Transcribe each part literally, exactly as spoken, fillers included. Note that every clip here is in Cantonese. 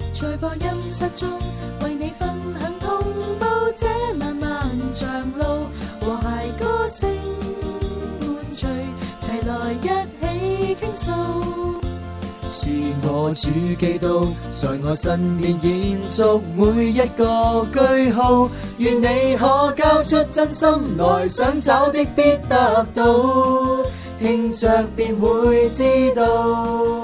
在播音室中為你分享同步這漫漫長路，和諧歌聲伴隨，齊來一起傾訴。 是我主基督在我身邊延續每一個句號，願你可交出真心來，想找的必得到，聽着便會知道。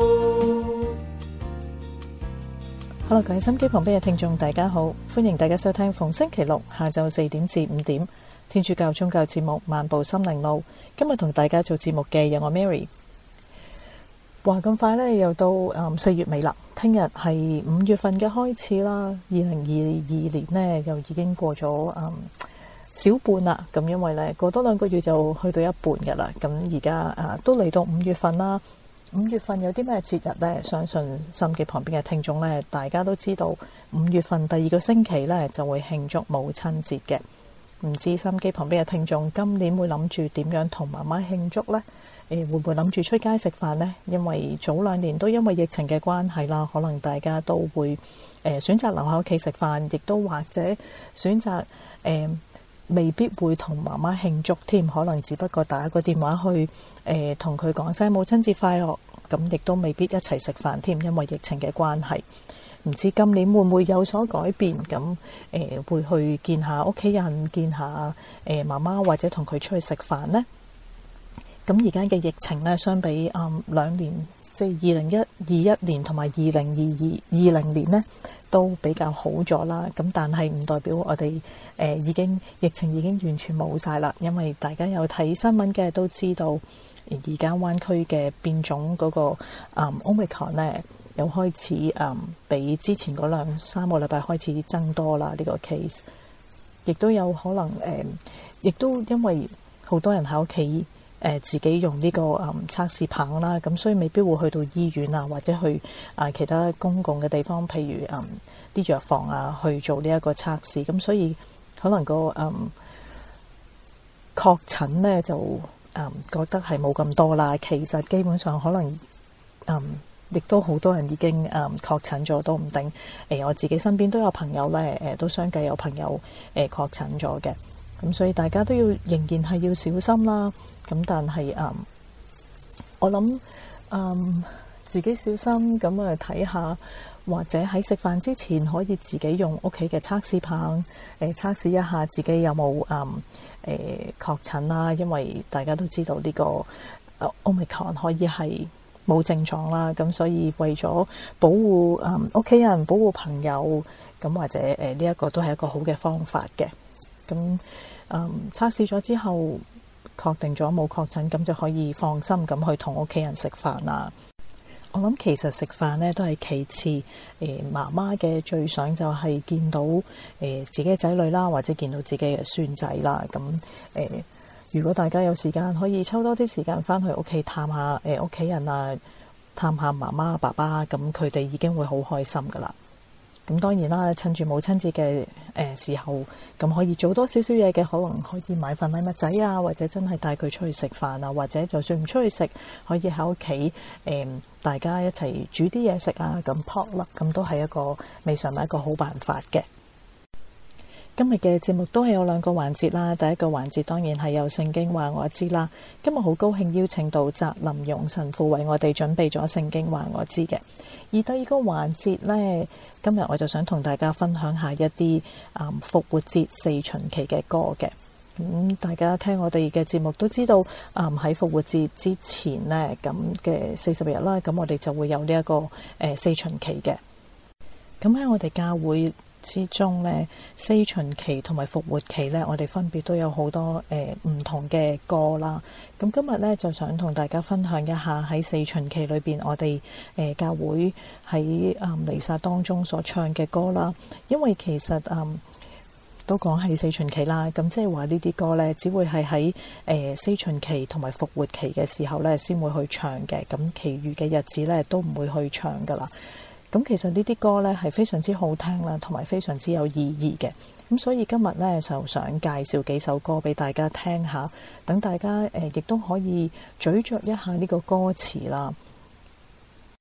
Hello， 各位心機旁邊嘅聽眾大家好，歡迎大家收聽逢星期六下晝四點至五點天主教宗教節目《漫步心靈路》。今日同大家做節目嘅有我 Mary。話咁快呢，又到誒四月尾啦，聽日係五月份嘅開始啦。二零二二年呢，又已經過咗誒、嗯、小半啦。咁因為呢，過多兩個月就去到一半噶啦。咁而家誒都嚟到五月份啦。五月份有啲咩節日呢？相信心機旁邊嘅聽眾呢，大家都知道五月份第二個星期呢就會慶祝母親節嘅。唔知心機旁邊嘅聽眾今年會諗住點樣同媽媽慶祝呢？誒、呃、會唔會諗住出街食飯呢？因為早兩年都因為疫情嘅關係啦，可能大家都會誒、呃、選擇留喺屋企食飯，亦都或者選擇誒、呃、未必會同媽媽慶祝添，可能只不過打個電話去誒同佢講聲母親節快樂，咁亦都未必一齊食飯添，因為疫情嘅關係。唔知今年會唔會有所改變？咁誒、呃、會去見下屋企人，見下誒媽媽，或者同佢出去食飯呢？咁而家嘅疫情呢，相比誒兩、嗯、年，即係二零一二一年同埋二零二二二零年呢，都比較好咗啦。咁但係唔代表我哋誒、呃、已經疫情已經完全冇晒啦，因為大家有睇新聞嘅都知道，而家灣區嘅變種嗰、那個誒、嗯、Omicron 呢，又開始誒、嗯、比之前嗰兩三個禮拜開始增多啦。呢、這個 case 亦都有可能誒，亦、呃、都因為好多人喺屋企。誒、呃、自己用呢、這個誒、嗯、測試棒啦，咁所以未必會去到醫院啊，或者去啊、呃、其他公共嘅地方，譬如誒啲、嗯、藥房啊去做呢一個測試，咁所以可能個誒、嗯、確診呢就誒、嗯、覺得係冇咁多啦。其實基本上可能誒亦、嗯、都好多人已經誒、嗯、確診咗都唔定。誒、呃、我自己身邊都有朋友咧，誒、呃、都相繼有朋友誒、呃、確診咗嘅。咁所以大家都要仍然係要小心啦。咁但係誒、嗯，我諗誒、嗯、自己小心咁啊睇下，或者喺食飯之前可以自己用屋企嘅測試棒誒測試一下自己有冇誒誒確診啦。因為大家都知道呢個 Omicron 可以係冇症狀啦。咁所以為咗保護誒屋企人、保護朋友，咁或者誒呢一個都係一個好嘅方法嘅。咁誒測試咗之後，確定咗冇確診，咁就可以放心咁去同屋企人食飯啦。我諗其實食飯呢都係其次，誒、呃、媽媽嘅最想就係見到誒、呃、自己嘅仔女啦，或者見到自己嘅孫仔啦。咁誒、呃，如果大家有時間，可以抽多啲時間翻去屋企探下誒屋企人啊，探下媽媽爸爸，咁佢哋已經會好開心噶啦。咁當然啦，趁住母親節嘅誒時候，咁可以做多少少嘢嘅，可能可以買份禮物仔啊，或者真係帶佢出去食飯啊，或者就算唔出去食，可以喺屋企誒大家一齊煮啲嘢食啊，咁 potluck 咁都係一個未嘗唔係一個好辦法嘅。今日嘅節目都係有兩個環節啦，第一個環節當然係有聖經話我知啦。今日好高興邀請到澤林容神父為我哋準備咗聖經話我知嘅。而第二個環節呢，今日我就想同大家分享下一啲啊、嗯、復活節四旬期嘅歌嘅。咁、嗯、大家聽我哋嘅節目都知道，啊喺復活節之前呢，咁嘅四十日啦，咁我哋就會有呢、這、一個誒、呃、四旬期嘅。咁喺我哋教會之中呢，四旬期同埋復活期呢，我哋分別都有好多誒唔、呃、同嘅歌啦。咁今日呢，就想同大家分享一下喺四旬期裏邊，我哋誒、呃、教會喺誒彌撒當中所唱嘅歌啦。因為其實誒、呃、都講係四旬期啦，咁即係話呢啲歌呢，只會係喺誒四旬期同埋復活期嘅時候呢先會去唱嘅。咁其餘嘅日子呢，都唔會去唱噶啦。咁其實呢啲歌呢係非常之好聽啦，同埋非常之有意義嘅。咁所以今日呢，就想介紹幾首歌俾大家聽下，等大家誒亦都可以咀嚼一下呢個歌詞啦。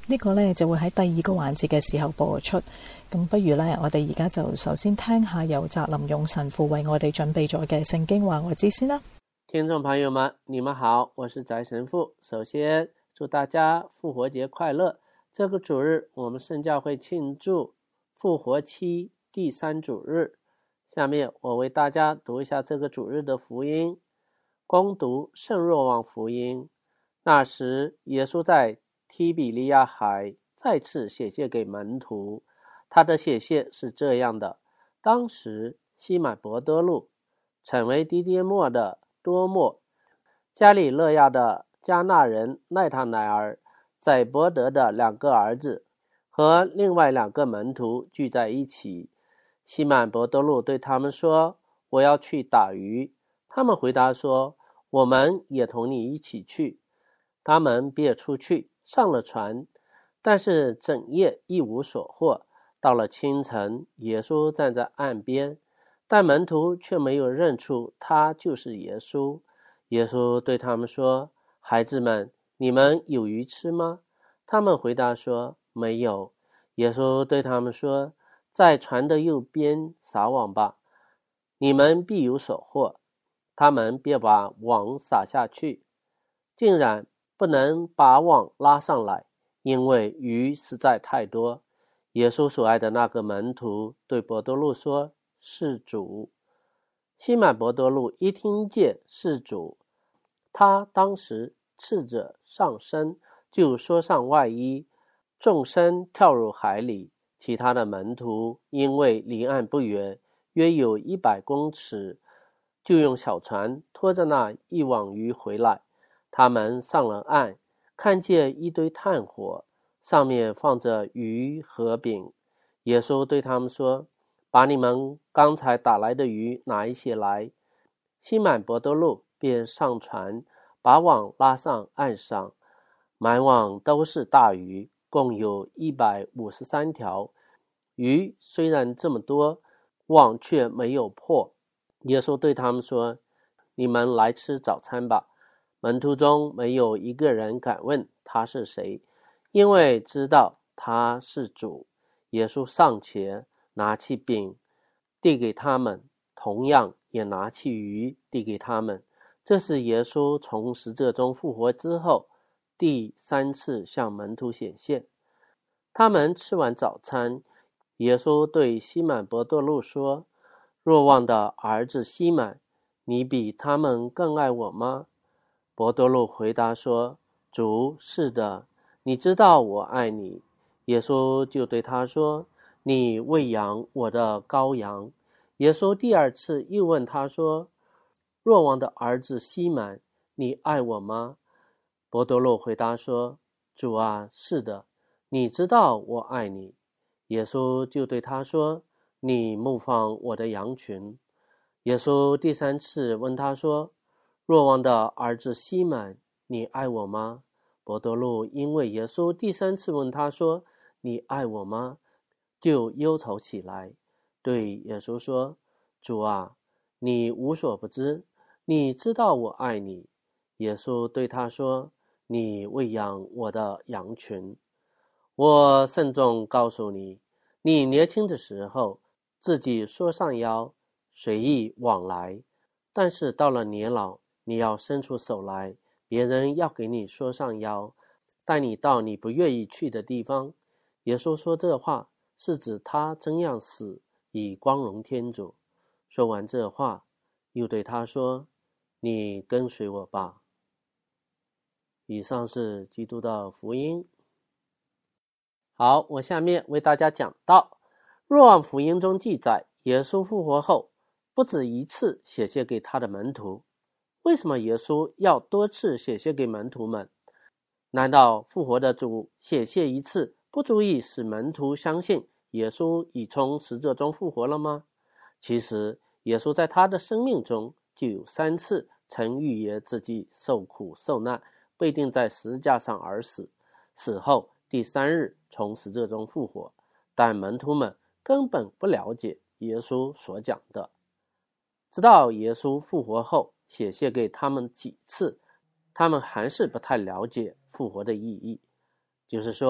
呢個呢就會喺第二個環節嘅時候播出。咁不如呢，我哋而家就首先聽下由澤林勇神父為我哋準備咗嘅聖經話我知先啦。 聽眾朋友們，你們好，我是翟神父。首先祝大家復活節快樂。這個主日我們聖教會慶祝復活期第三主日。下面我為大家讀一下這個主日的福音。恭讀聖若望福音。那時耶穌在提比利亞海再次顯現給門徒，他的顯現是這樣的：當時西滿伯多祿、稱為狄迪末的多默、加里勒亞的迦納人奈塔乃爾、載伯德的兩個兒子和另外兩個門徒聚在一起。西滿伯多祿對他們說：我要去打魚。他們回答說：我們也同你一起去。他們便出去上了船，但是整夜一無所獲。到了清晨，耶穌站在岸邊，但門徒卻沒有認出他就是耶穌。耶穌對他們說：孩子們，你們有魚吃嗎？他們回答說：沒有。耶穌對他們說：在船的右邊撒網吧，你們必有所獲。他們便把網撒下去，竟然不能把網拉上來，因為魚實在太多。耶穌所愛的那個門徒對伯多祿說：是主。西滿伯多祿一聽見是主，他當時赤着上身，就縮上外衣，縱身跳入海裡。其他的門徒因為離岸不遠，約有一百公尺，就用小船拖着那一網魚回來。他們上了岸，看見一堆炭火，上面放着魚和餅。耶穌對他們說：把你們剛才打來的魚拿一些來。西滿伯多祿便上船，把網拉上岸上，滿網都是大魚，共有一百五十三條。魚雖然這麼多，網卻沒有破。耶穌對他們說：你們來吃早餐吧。門徒中沒有一個人敢問他是誰，因為知道他是主。耶穌上前拿起餅遞給他們，同樣也拿起魚遞給他們。這是耶穌從死者中復活之後第三次向門徒顯現。他們吃完早餐，耶穌對西滿伯多祿說：若望的兒子西滿，你比他們更愛我嗎？伯多祿回答說：主，是的，你知道我愛你。耶穌就對他說：你餵養我的羔羊。耶穌第二次又問他說：若望的兒子西滿，你愛我嗎？伯多祿回答說：主啊，是的，你知道我愛你。耶穌就對他說：你牧放我的羊群。耶穌第三次問他說：若望的兒子西滿，你愛我嗎？伯多祿因為耶穌第三次問他說：你愛我嗎？就憂愁起來，對耶穌說：主啊，你無所不知，你知道我愛你。耶穌對他說：你餵養我的羊群。我慎重告訴你，你年輕的時候自己縮上腰，隨意往來，但是到了年老，你要伸出手來，別人要給你縮上腰，帶你到你不願意去的地方。耶穌說這話是指他怎樣死以光榮天主。說完這話，又對他說：你跟隨我吧。以上是基督的福音。好，我下面為大家講到若望福音中記載，耶穌復活後不止一次顯現給他的門徒。為什麼耶穌要多次顯現給門徒們？難道復活的主顯現一次不足以使門徒相信耶穌已從死者中復活了嗎？其實耶穌在他的生命中就有三次曾預言自己受苦受難，被釘在十字架上而死，死後第三日從死者中復活，但門徒們根本不了解耶穌所講的。直到耶穌復活後顯現給他們幾次，他們還是不太了解復活的意義。就是說，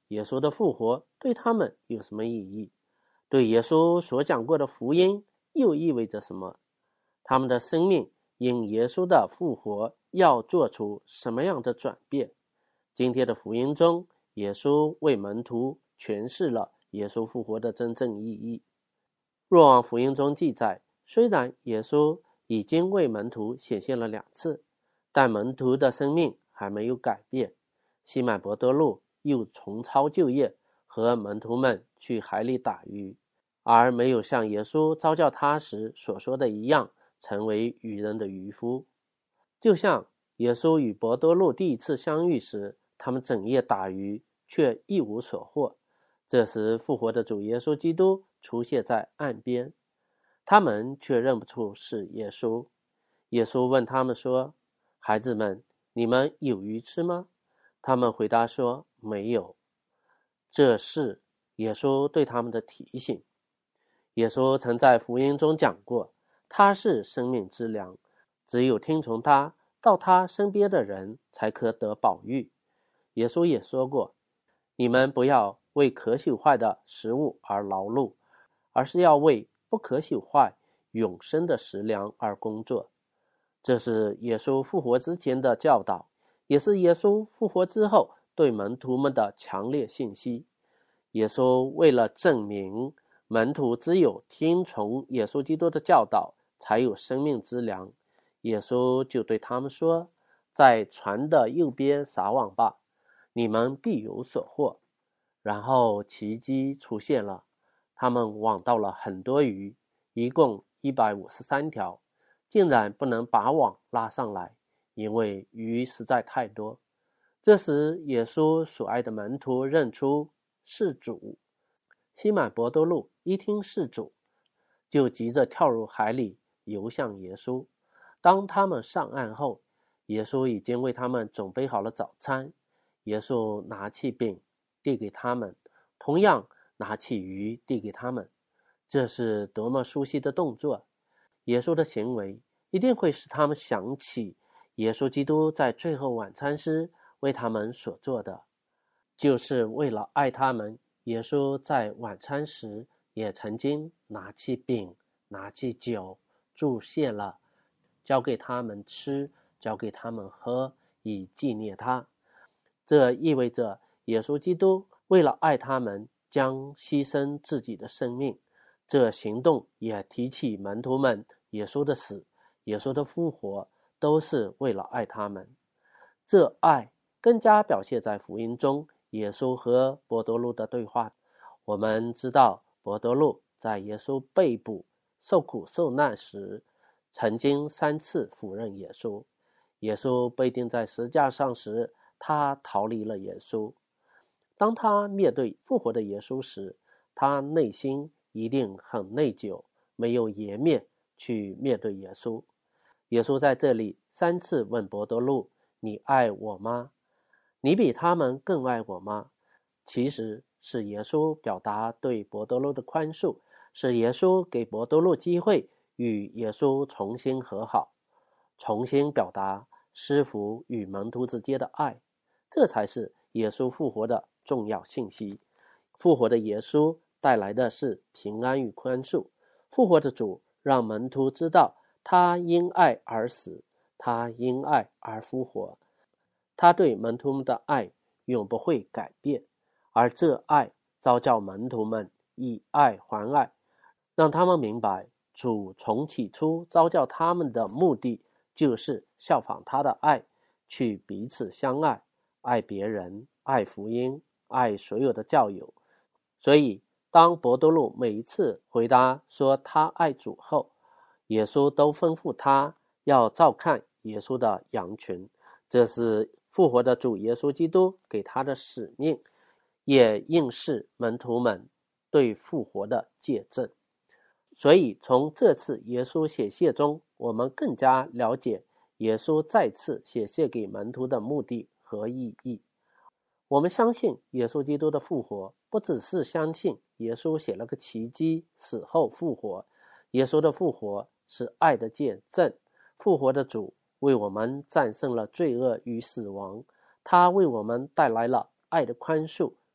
耶稣的复活对他们有什么意义？对耶稣所讲过的福音又意味着什么？他们的生命因耶稣的复活要做出什么样的转变？今天的福音中，耶稣为门徒诠释了耶稣复活的真正意义。若望福音中记载，虽然耶稣已经为门徒显现了两次，但门徒的生命还没有改变。西满伯多禄又重操旧业，和门徒们去海里打鱼，而没有像耶稣召叫他时所说的一样，成为渔人的渔夫。就像耶稣与伯多禄第一次相遇时，他们整夜打鱼，却一无所获。这时复活的主耶稣基督出现在岸边，他们却认不出是耶稣。耶稣问他们说：孩子们，你们有鱼吃吗？他们回答说：没有。这是耶稣对他们的提醒。耶稣曾在福音中讲过，他是生命之粮，只有听从他，到他身边的人才可得保育。耶稣也说过，你们不要为可朽坏的食物而劳碌，而是要为不可朽坏永生的食粮而工作。这是耶稣复活之前的教导，也是耶稣复活之后对门徒们的强烈信息。耶稣为了证明门徒只有听从耶稣基督的教导才有生命之粮，耶稣就对他们说：在船的右边撒网吧，你们必有所获。然后奇迹出现了，他们网到了很多鱼，一共一百五十三条，竟然不能把网拉上来，因为鱼实在太多。这时耶稣所爱的门徒认出是主。西满伯多禄一听是主，就急着跳入海里游向耶稣。当他们上岸后，耶稣已经为他们准备好了早餐。耶稣拿起饼递给他们，同样拿起鱼递给他们。这是多么熟悉的动作！耶稣的行为一定会使他们想起耶稣基督在最后晚餐时为他们所做的。就是为了爱他们，耶稣在晚餐时也曾经拿起饼，拿起酒，祝谢了，交给他们吃，交给他们喝，以纪念他。这意味着耶稣基督为了爱他们，将牺牲自己的生命。这行动也提起门徒们耶稣的死，耶稣的复活，都是为了爱他们。这爱更加表现在福音中耶稣和伯多禄的对话。我们知道伯多禄在耶稣被捕受苦受难时，曾经三次否认耶稣。耶稣被钉在十字架上时，他逃离了耶稣。当他面对复活的耶稣时，他内心一定很内疚，没有颜面去面对耶稣。耶稣在这里三次问伯多禄：你爱我吗？你比他们更爱我吗？其实是耶稣表达对伯多禄的宽恕，是耶稣给伯多禄机会与耶稣重新和好，重新表达师父与门徒之间的爱。这才是耶稣复活的重要信息。复活的耶稣带来的是平安与宽恕。复活的主让门徒知道，他因爱而死，他因爱而复活。他对门徒们的爱永不会改变，而这爱召叫门徒们以爱还爱，让他们明白主从起初召叫他们的目的就是效仿他的爱，去彼此相爱，爱别人，爱福音，爱所有的教友。所以当伯多禄每一次回答说他爱主后，耶稣都吩咐他要照看耶稣的羊群。这是复活的主耶稣基督给他的使命，也应是门徒们对复活的见证。所以从这次耶稣显现中，我们更加了解耶稣再次显现给门徒的目的和意义。我们相信耶稣基督的复活，不只是相信耶稣写了个奇迹死后复活。耶稣的复活是爱的见证。复活的主为我们战胜了罪恶与死亡，他为我们带来了爱的宽恕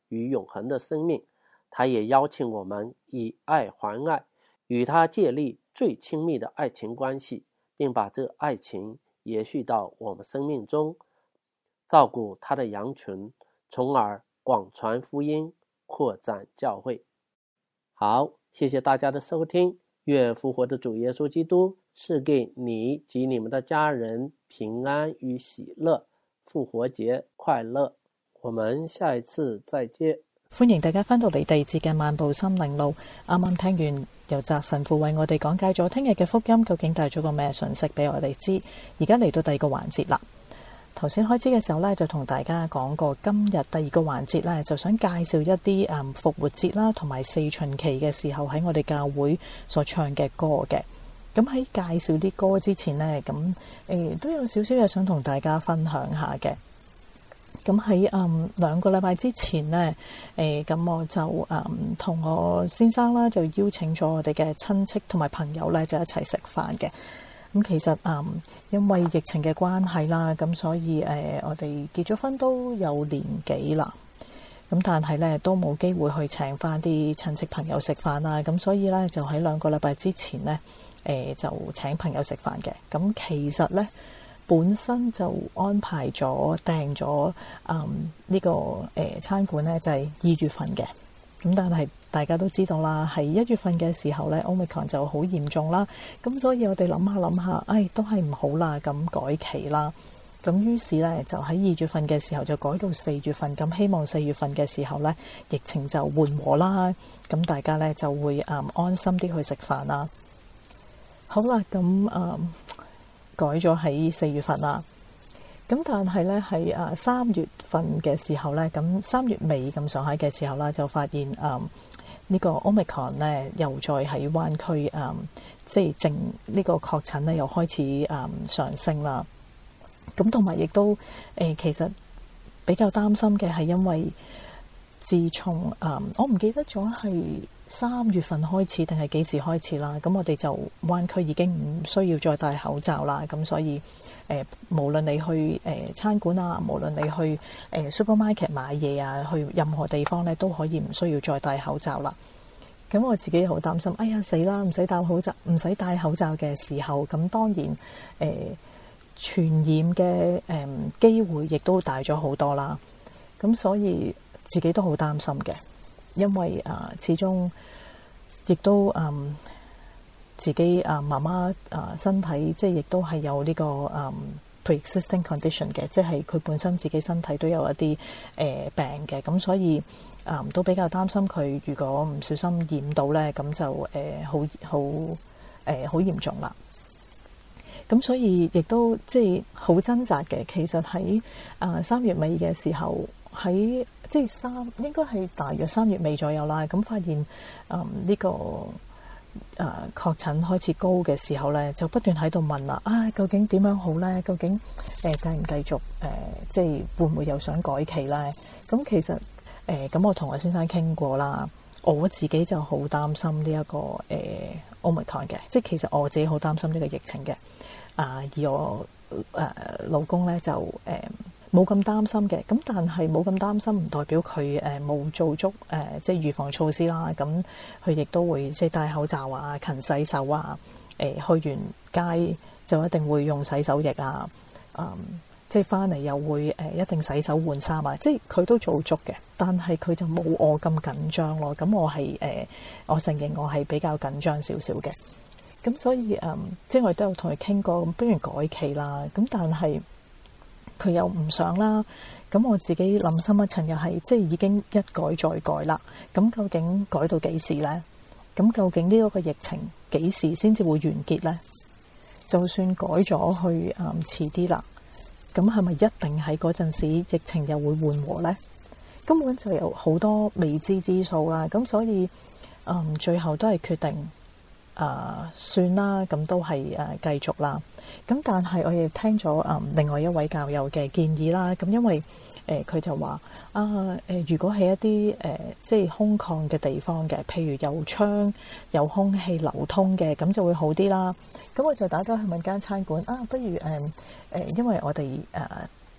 与永恒的生命。他也邀请我们以爱还爱，与他建立最亲密的爱情关系，并把这爱情延续到我们生命中，照顾他的羊群，从而广传福音，扩展教会。好，谢谢大家的收听，愿复活的主耶穌基督賜給你及你們的家人平安與喜樂，復活節快樂，我們下一次再見。 歡迎大家返到嚟第二節嘅漫步心靈路。啱啱聽完由澤神父為我哋講解咗聽日嘅福音究竟帶咗個咩信息俾我哋知。而家嚟到第二個環節啦。頭先開始嘅時候呢，就同大家講過今日第二個環節呢，就想介紹一啲誒復活節啦同埋四旬期嘅時候喺我哋教會所唱嘅歌嘅。咁喺介紹啲歌之前呢，咁誒、呃、都有少少嘢想同大家分享下嘅。咁喺嗯兩個禮拜之前呢，誒、呃、咁我就嗯同我先生啦，就邀請咗我哋嘅親戚同埋朋友咧，就一齊食飯嘅。咁其實嗯因為疫情嘅關係啦，咁所以誒、呃、我哋結咗婚都有年幾啦。咁但係咧都冇機會去請翻啲親戚朋友食飯啦。咁所以咧就喺兩個禮拜之前咧，誒、呃、就請朋友食飯嘅。咁其實咧，本身就安排咗訂咗嗯呢、這個誒、呃、餐館咧，就係、是、二月份嘅。咁但係大家都知道啦，係一月份嘅時候咧 Omicron 就好嚴重啦。咁所以我哋諗下諗下，唉，都係唔好啦，咁改期啦。咁於是咧就喺二月份嘅時候就改到四月份。咁希望四月份嘅時候咧，疫情就緩和啦。咁大家咧就會誒、嗯、安心啲去食飯啦。好啦，咁誒。嗯改咗喺四月份啦，咁但係咧喺誒三月份嘅時候咧，咁三月尾咁上下嘅時候啦，就發現誒、嗯這個、呢個 Omicron 咧又再喺灣區誒，即係正呢個確診咧又開始誒、嗯、上升啦。咁同埋亦都誒、呃，其實比較擔心嘅係因為自從誒、嗯、我唔記得咗係三月份開始定係幾時開始啦？咁我哋就灣區已經唔需要再戴口罩啦。咁所以誒、呃，無論你去誒、呃、餐館啊，無論你去誒、呃、supermarket 買嘢啊，去任何地方咧都可以唔需要再戴口罩啦。咁我自己好擔心，哎呀死啦！唔使戴口罩，唔使戴口罩嘅時候，咁當然誒、呃、傳染嘅誒、呃、機會亦都大咗好多啦。咁所以自己都好擔心嘅。因為啊、呃，始終亦都嗯自己啊媽媽啊身體即係亦都係有呢、這個嗯 pre-existing condition 嘅，即係佢本身自己身體都有一啲誒、呃、病嘅，咁所以啊、呃、都比較擔心佢如果唔小心染到咧，咁就誒好好誒好嚴重啦。咁所以亦都即係好掙扎嘅。其實喺啊三月尾嘅時候。喺即係三應該係大約三月尾左右啦，咁發現嗯呢、這個誒、呃、確診開始高嘅時候咧，就不斷喺度問啦，啊究竟點樣好咧？究竟誒繼唔繼續誒、呃、即係會唔會又想改期咧？咁其實誒咁、呃、我同我先生傾過啦，我自己就好擔心呢、這、一個誒、呃、Omicron 嘅，即係其實我自己好擔心呢個疫情嘅。啊、呃、而我誒、呃、老公咧就誒。呃冇咁擔心嘅，咁但係冇咁擔心唔代表佢誒冇做足誒、呃、即係預防措施啦。咁佢亦都會即係戴口罩啊、勤洗手啊。誒、呃、去完街就一定會用洗手液啊。嗯，即係翻嚟又會誒、呃、一定洗手換衫啊。即係佢都做足嘅，但係佢就冇我咁緊張咯。咁我係誒、呃、我承認我係比較緊張少少嘅。咁所以誒、嗯，即係我都有同佢傾過，咁不如改期啦。咁但係佢又唔想啦，咁我自己諗深一層又係，即係已經一改再改啦。咁究竟改到幾時呢？咁究竟呢一個疫情幾時先至會完結呢？就算改咗去誒遲啲啦，咁係咪一定喺嗰陣時疫情又會緩和呢？根本就有好多未知之數啦。咁所以誒、嗯、最後都係決定誒、呃、算啦，咁都係誒、呃、繼續啦。咁但係我亦聽咗誒、嗯、另外一位教友嘅建議啦。咁因為誒佢、呃、就話啊誒、呃，如果係一啲誒、呃、即係空曠嘅地方嘅，譬如有窗有空氣流通嘅，咁就會好啲啦。咁我就打電話去問間餐館啊，不如誒誒、呃，因為我哋誒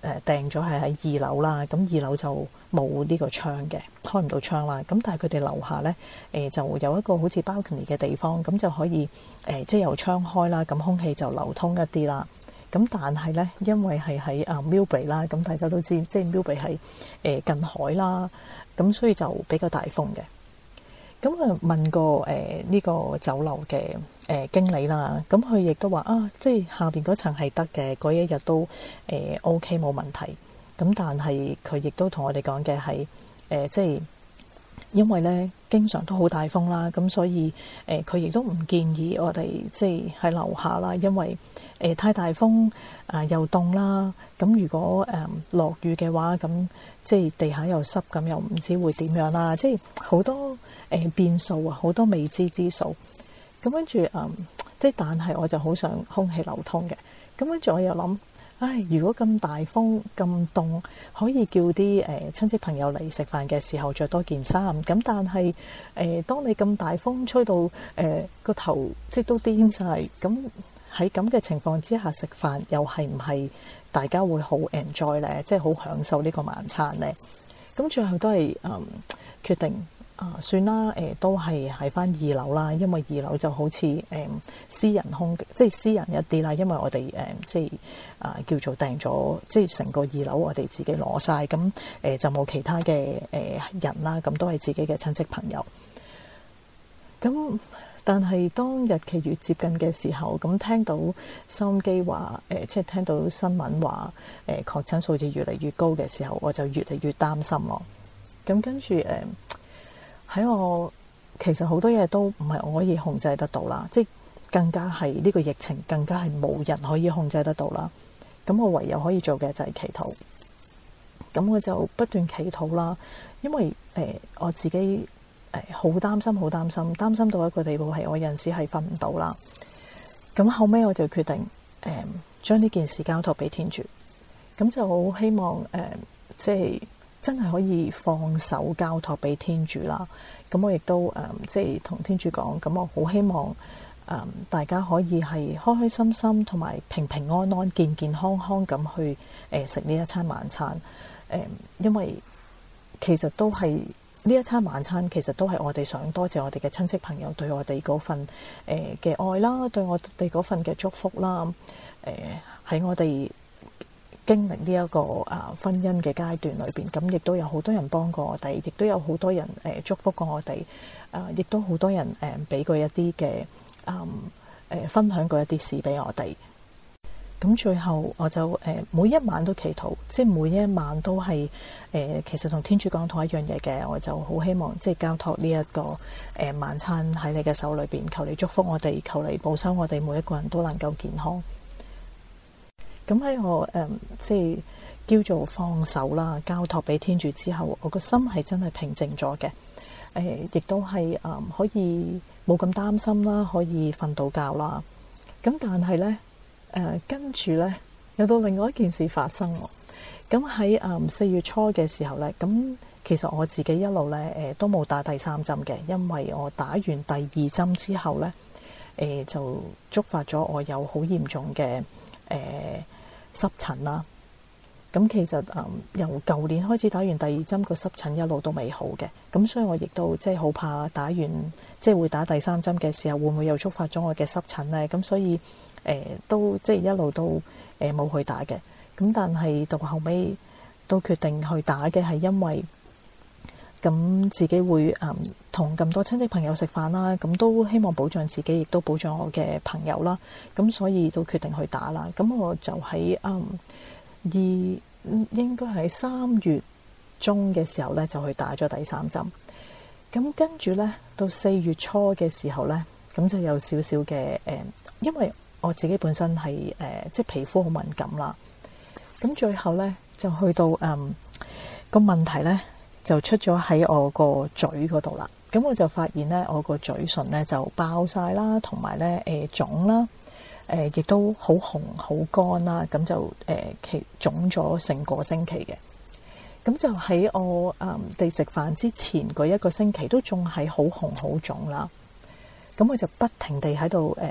誒訂咗係喺二樓啦，咁二樓就冇呢個窗嘅，開唔到窗啦。咁但係佢哋樓下咧誒、呃、就有一個好似 balcony 嘅地方，咁就可以誒、呃、即係由窗開啦，咁空氣就流通一啲啦。咁但係咧，因為係喺啊 Millbrae 啦，咁大家都知，即係 Millbrae 係誒近海啦，咁所以就比較大風嘅。咁啊問過誒呢個酒樓嘅誒經理啦，咁佢亦都話啊，即係下邊嗰層係得嘅，嗰一日都誒 OK 冇問題。咁但係佢亦都同我哋講嘅係誒，即係因為咧經常都好大風啦，咁所以誒佢亦都唔建議我哋即係喺樓下啦，因為誒太大風啊又凍啦。咁如果誒落雨嘅話，咁即係地下又濕，咁又唔知會點樣啦。即係好多誒變數啊，好多未知之數。咁跟住誒，即係但係我就好想空氣流通嘅。咁跟住我又諗，唉，如果咁大風咁凍，可以叫啲誒親戚朋友嚟食飯嘅時候着多件衫。咁但係誒、呃，當你咁大風吹到誒個、呃、頭即係都癲晒，咁喺咁嘅情況之下食飯，又係唔係大家會好 enjoy 咧？即係好享受呢個晚餐咧？咁最後都係誒、嗯、決定。啊，算啦，誒、呃、都係喺翻二樓啦，因為二樓就好似誒、呃、私人空，即係私人一啲啦。因為我哋誒、呃、即係啊、呃、叫做訂咗，即係成個二樓我哋自己攞晒，咁誒、呃、就冇其他嘅誒、呃、人啦，咁都係自己嘅親戚朋友。咁但係當日期越接近嘅時候，咁聽到收音機話誒，即係聽到新聞話誒、呃、確診數字越嚟越高嘅時候，我就越嚟越擔心咯。咁跟住誒。呃喺我其實好多嘢都唔係我可以控制得到啦，即係更加係呢個疫情更加係冇人可以控制得到啦。咁我唯有可以做嘅就係祈禱。咁我就不斷祈禱啦，因為誒、呃、我自己誒好擔心，好擔心，擔心到一個地步係我有陣時係瞓唔到啦。咁後尾我就決定誒將呢件事交託俾天主。咁就好希望誒、呃、即係。真係可以放手交託俾天主啦。咁我亦都誒、呃，即係同天主講。咁我好希望誒、呃，大家可以係開開心心，同埋平平安安、健健康康咁去誒食呢一餐晚餐。誒、呃，因為其實都係呢一餐晚餐，其實都係我哋想多謝我哋嘅親戚朋友對我哋嗰份誒嘅、呃、愛啦，對我哋嗰份嘅祝福啦。誒、呃，喺我哋經歷呢一個啊婚姻嘅階段裏邊，咁亦都有好多人幫過我哋，亦都有好多人誒、呃、祝福過我哋，啊、呃，亦都好多人誒俾、呃、過一啲嘅啊誒分享過一啲事俾我哋。咁最後我就誒、呃、每一晚都祈禱，即係每一晚都係誒、呃、其實同天主講同一樣嘢嘅，我就好希望即係交託呢一個誒、呃、晚餐喺你嘅手裏邊，求你祝福我哋，求你保守我哋每一個人都能夠健康。咁喺我誒、嗯、即係叫做放手啦，交託俾天主之後，我個心係真係平靜咗嘅。誒、呃，亦都係誒、嗯、可以冇咁擔心啦，可以瞓到覺啦。咁但係咧誒，跟住咧有到另外一件事發生喎。咁喺誒四月初嘅時候咧，咁其實我自己一路咧誒、呃、都冇打第三針嘅，因為我打完第二針之後咧誒、呃、就觸發咗我有好嚴重嘅誒。呃濕疹啦，咁其實誒、嗯、由舊年開始打完第二針，個濕疹一路都未好嘅，咁所以我亦都即係好怕打完即係會打第三針嘅時候，會唔會又觸發咗我嘅濕疹咧？咁所以誒、呃、都即係一路都誒冇、呃、去打嘅。咁但係到後尾都決定去打嘅係因為咁自己會誒同咁多親戚朋友食飯啦，咁都希望保障自己，亦都保障我嘅朋友啦。咁所以都決定去打啦。咁我就喺誒二應該喺三月中嘅時候咧，就去打咗第三針。咁跟住咧，到四月初嘅時候咧，咁就有少少嘅誒，因為我自己本身係誒、呃、即係皮膚好敏感啦。咁最後咧就去到誒、呃、個問題咧。就出咗喺我個嘴嗰度啦，咁我就發現咧，我個嘴唇咧就爆晒啦，同埋咧誒腫啦，誒亦都好紅好乾啦，咁就誒其腫咗成個星期嘅。咁就喺我誒哋食飯之前嗰一個星期都仲係好紅好腫啦。咁我就不停地喺度誒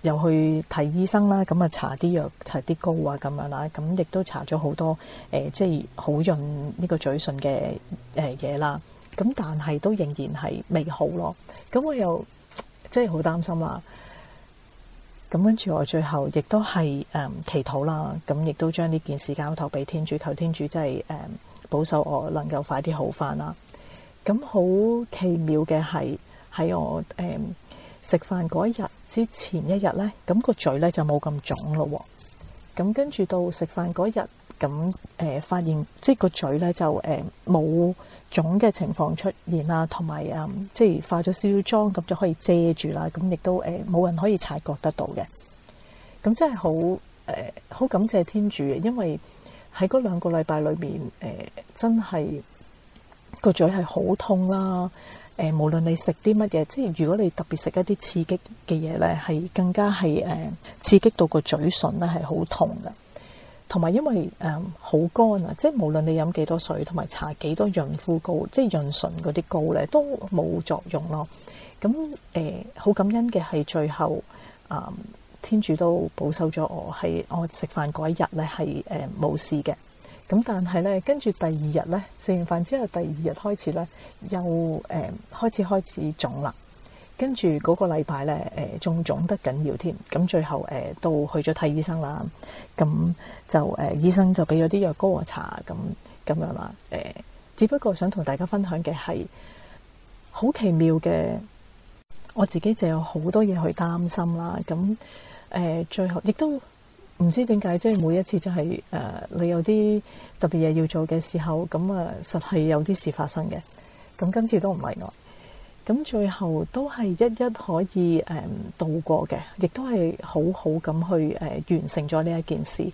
又去睇醫生啦，咁啊搽啲藥搽啲膏啊咁樣啦，咁亦都搽咗好多誒、呃、即係好潤呢個嘴唇嘅誒嘢啦，咁但係都仍然係未好咯，咁我又即係好擔心啦。咁跟住我最後亦都係誒、嗯、祈禱啦，咁亦都將呢件事交託俾天主，求天主真係誒保守我能夠快啲好返啦。咁好奇妙嘅係喺我誒食飯嗰一日之前一日咧，咁個嘴咧就冇咁腫咯。咁跟住到食飯嗰日，咁誒、呃、發現即係個嘴咧就誒冇腫嘅情況出現啦，同埋誒即係化咗少少妝咁就可以遮住啦。咁亦都誒冇、呃、人可以察覺得到嘅。咁真係好誒好感謝天主嘅，因為喺嗰兩個禮拜裏面誒、呃、真係個嘴係好痛啦。誒、呃，無論你食啲乜嘢，即係如果你特別食一啲刺激嘅嘢咧，係更加係誒、呃、刺激到個嘴唇咧係好痛嘅。同埋因為誒好乾啊，即係無論你飲幾多水，同埋搽幾多潤膚膏，即係潤唇嗰啲膏咧，都冇作用咯。咁誒好感恩嘅係最後啊、呃，天主都保守咗我，係我食飯嗰一日咧係誒冇事嘅。咁但係咧，跟住第二日咧，食完飯之後，第二日開始咧，又誒、呃、開始開始腫啦。跟住嗰個禮拜咧，誒仲腫得緊要添。咁最後誒、呃、都去咗睇醫生啦。咁就誒、呃、醫生就俾咗啲藥膏我搽，咁咁樣啦。誒、呃，只不過想同大家分享嘅係好奇妙嘅，我自己就有好多嘢去擔心啦。咁誒、呃、最後亦都。唔知點解，即係每一次就係、是、誒、呃，你有啲特別嘢要做嘅時候，咁啊，實係有啲事發生嘅。咁今次都唔例外。咁最後都係一一可以誒、呃、度過嘅，亦都係好好咁去誒、呃、完成咗呢一件事。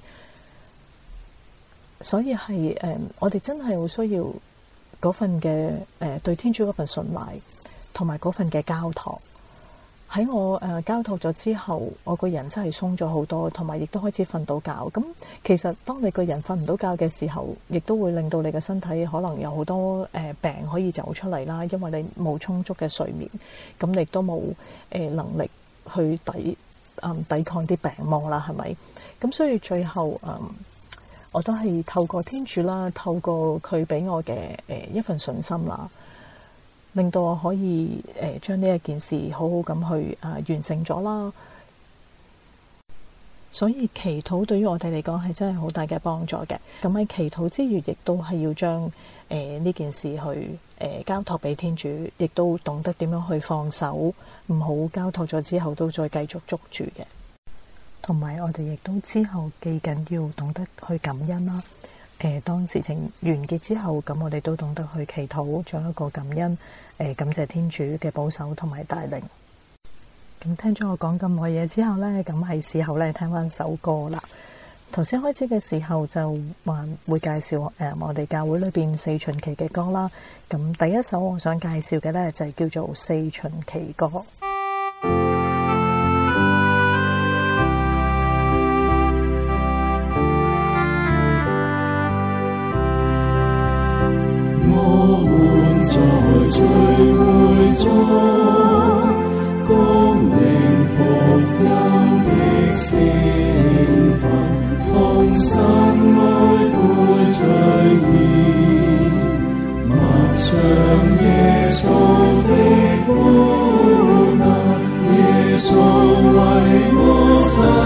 所以係誒、呃，我哋真係好需要嗰份嘅誒、呃、對天主嗰份信賴，同埋嗰份嘅交託。喺我誒、呃、交託咗之後，我個人真係鬆咗好多，同埋亦都開始瞓到覺。咁其實當你個人瞓唔到覺嘅時候，亦都會令到你嘅身體可能有好多誒、呃、病可以走出嚟啦。因為你冇充足嘅睡眠，咁你亦都冇誒能力去抵嗯抵抗啲病魔啦，係咪？咁所以最後嗯，我都係透過天主啦，透過佢俾我嘅誒、呃、一份信心啦。令到我可以誒、呃、將呢一件事好好咁去啊、呃、完成咗啦，所以祈禱對於我哋嚟講係真係好大嘅幫助嘅。咁喺祈禱之餘，亦都係要將誒呢件事去誒、呃、交託俾天主，亦都懂得點樣去放手，唔好交託咗之後都再繼續捉住嘅。同埋我哋亦都之後記緊要懂得去感恩啦。誒、呃，當事情完結之後，咁我哋都懂得去祈禱，做一個感恩，誒、呃，感謝天主嘅保守同埋帶領。咁聽咗我講咁耐嘢之後呢，咁係時候咧聽翻首歌啦。頭先開始嘅時候就話會介紹誒、呃、我哋教會裏邊四旬期嘅歌啦。咁第一首我想介紹嘅呢，就係、是、叫做四旬期歌。 在聚會中，恭領福音的聖飯，同心愛悔罪孽，默想耶穌的苦難，耶穌為我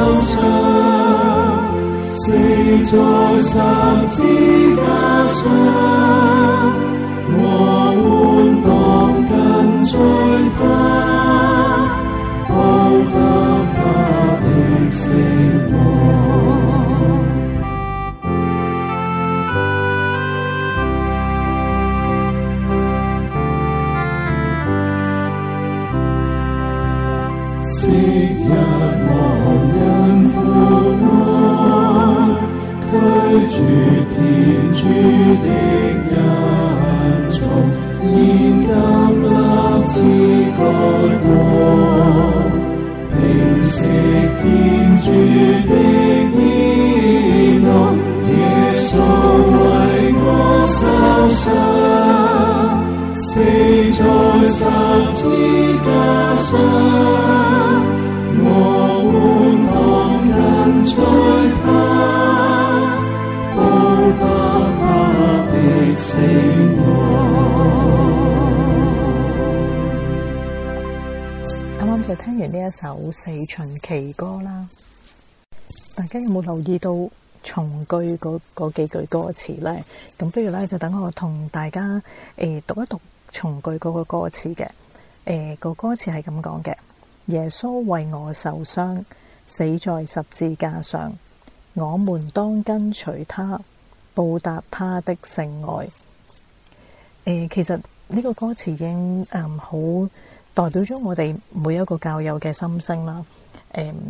受傷，死在十字架上。我們當跟隨他，報答他的聖王。昔日我因苦愛，拒絕天主的恩寵，現今立志改過，平息天主的義怒，耶穌為我受傷，死在十字架上，我在他，報答他的死亡。 啱啱就聽完呢一首四旬期歌啦，大家有冇留意到從句嗰嗰幾句歌詞呢？咁不如咧就等我同大家誒、呃、讀一讀從句嗰個歌詞嘅。誒、呃、個歌詞係咁講嘅：耶穌為我受傷，死在十字架上，我們當跟隨他，報答他的聖愛。誒、呃，其實呢個歌詞已經誒好、嗯、代表咗我哋每一個教友嘅心聲啦。誒、嗯。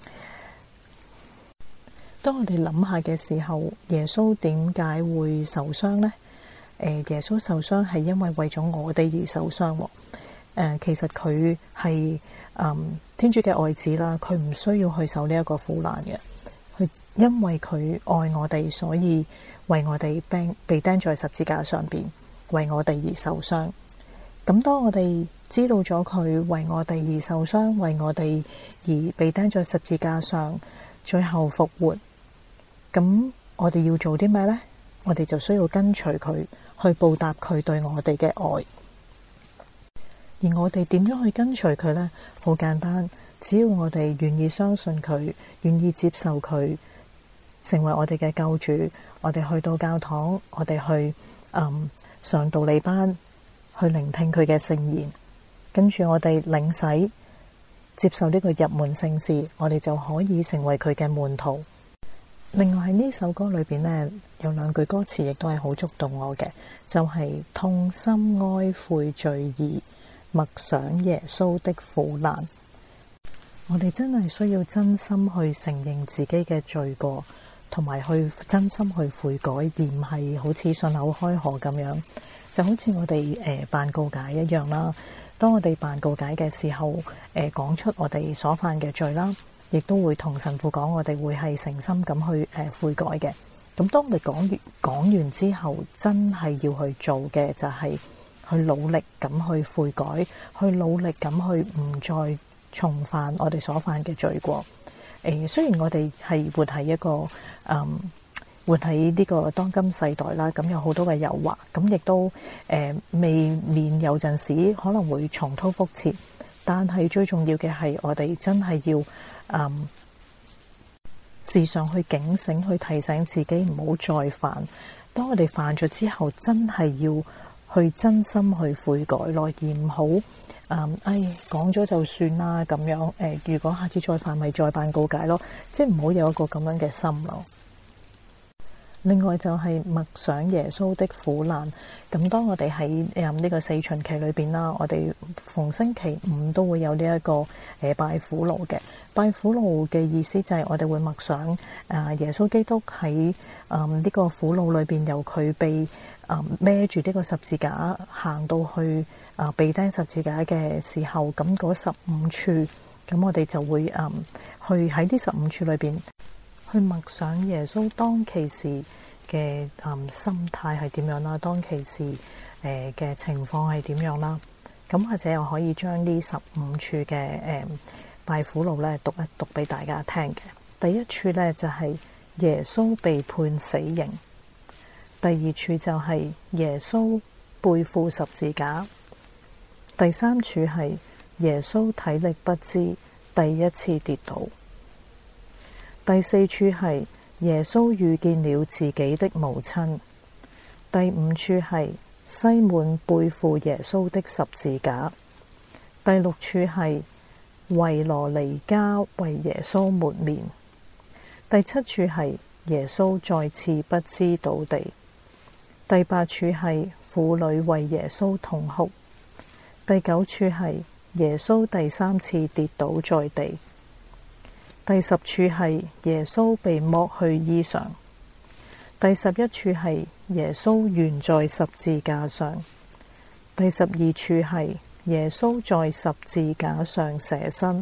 當我哋諗下嘅時候，耶穌點解會受傷呢？誒，耶穌受傷係因為為咗我哋而受傷。誒、呃，其實佢係誒天主嘅愛子啦，佢唔需要去受呢一個苦難嘅。佢因為佢愛我哋，所以為我哋釘被釘在十字架上邊，為我哋而受傷。咁當我哋知道咗佢為我哋而受傷，為我哋而被釘在十字架上，最後復活。咁我哋要做啲咩呢？我哋就需要跟隨佢，去報答佢對我哋嘅愛。而我哋點樣去跟隨佢呢？好簡單，只要我哋願意相信佢，願意接受佢，成為我哋嘅救主，我哋去到教堂，我哋去、嗯、上道理班，去聆聽佢嘅聖言，跟住我哋領洗，接受呢個入門聖事，我哋就可以成為佢嘅門徒。另外喺呢首歌裏邊呢，有兩句歌詞亦都係好觸動我嘅，就係、是、痛心哀悔罪義，默想耶穌的苦難。我哋真係需要真心去承認自己嘅罪過，同埋去真心去悔改，而唔係好似信口開河咁樣。就好似我哋誒辦告解一樣啦。當我哋辦告解嘅時候，誒、呃、講出我哋所犯嘅罪啦。亦都會同神父講，我哋會係誠心咁去誒悔改嘅。咁當我哋講完講完之後，真係要去做嘅就係去努力咁去悔改，去努力咁去唔再重犯我哋所犯嘅罪過。誒、呃，雖然我哋係活喺一個誒、嗯、活喺呢個當今世代啦，咁有好多嘅誘惑，咁亦都誒、呃、未免有陣時可能會重蹈覆轍。但係最重要嘅係，我哋真係要嗯時常去警醒，去提醒自己唔好再犯。當我哋犯咗之後，真係要去真心去悔改咯，而唔好嗯哎講咗就算啦咁樣。誒、呃，如果下次再犯，咪再辦告解咯，即係唔好有一個咁樣嘅心咯。另外就係默想耶穌的苦難。咁當我哋喺誒呢個四旬期裏邊啦，我哋逢星期五都會有呢、這、一個誒、呃、拜苦路嘅。拜苦路嘅意思就係我哋會默想誒、呃、耶穌基督喺誒呢個苦路裏邊，由佢被誒孭住呢個十字架行到去誒、呃、被釘十字架嘅時候，咁嗰十五處，咁我哋就會誒、呃、去喺呢十五處裏邊去默想耶穌當其時嘅、嗯、心態係點樣啦，當其時誒嘅、呃、情況係點樣啦。咁或者我可以將呢十五處嘅誒、呃、拜苦路咧讀一讀俾大家聽嘅。第一處咧就係、是、耶穌被判死刑，第二處就係耶穌背負十字架，第三處係耶穌體力不支第一次跌倒，第四處係耶穌遇見了自己的母親，第五處係西滿背負耶穌的十字架，第六處係維羅尼加為耶穌抹面，第七處係耶穌再次不支倒地，第八處係婦女為耶穌痛哭，第九處係耶穌第三次跌倒在地，第十處係耶穌被剝去衣裳，第十一處係耶穌懸在十字架上，第十二處係耶穌在十字架上捨身，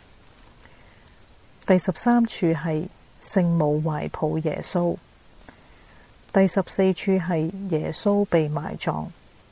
第十三處係聖母懷抱耶穌，第十四處係耶穌被埋葬，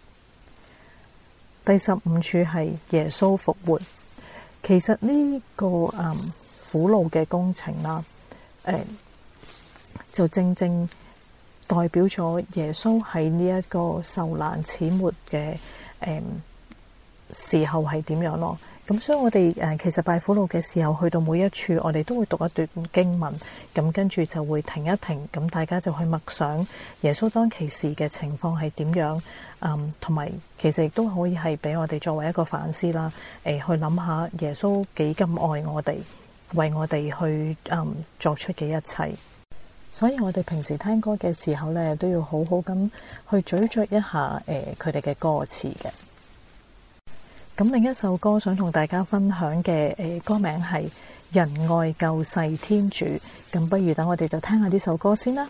第十五處係耶穌復活。其實呢、這個嗯苦路嘅工程啦， 呃、就正正代表咗耶穌喺呢一個受難始末嘅誒、呃、時候係點樣咯。咁所以我哋誒其實拜苦路嘅時候，去到每一處，我哋都會讀一段經文，咁跟住就會停一停，咁大家就去默想耶穌當其時嘅情況係點樣，嗯，同埋其實亦都可以係俾我哋作為一個反思啦，誒、呃、去諗下耶穌幾咁愛我哋，為我哋去嗯作出嘅一切。所以我哋平時聽歌嘅時候咧，都要好好咁去咀嚼一下誒佢哋嘅歌詞嘅。咁另一首歌想同大家分享嘅誒歌名係《仁愛救世天主》，咁不如等我哋就聽下呢首歌先啦。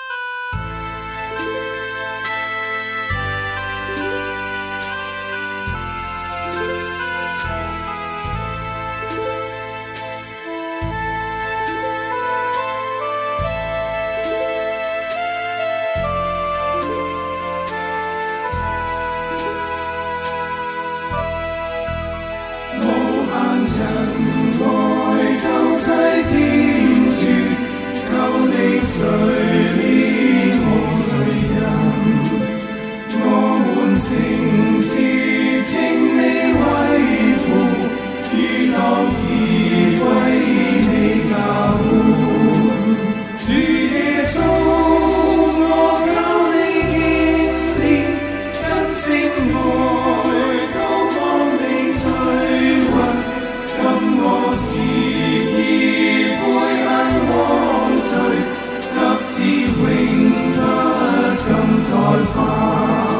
誰憐無罪人，我們誠摯稱你為父，如當自歸你教會。主耶穌，我靠你經歷真正愛，高過你水雲，今我自意悔恨枉罪，至永不敢再犯。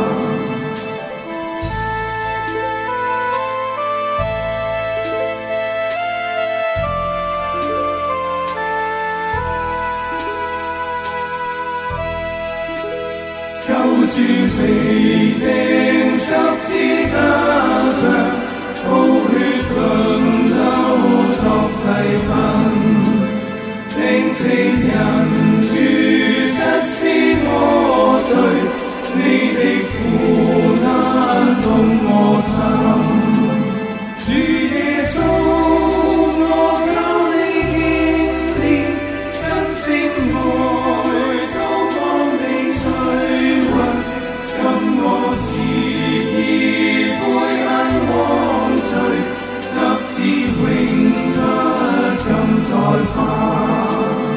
救主被釘十字架上，寶血盡流作祭品，釘死人。主實是我罪，你的苦難動我心。主耶穌，我靠你經歷真正愛，高過你水雲，今我自意悔恨枉罪，立志永不敢再犯。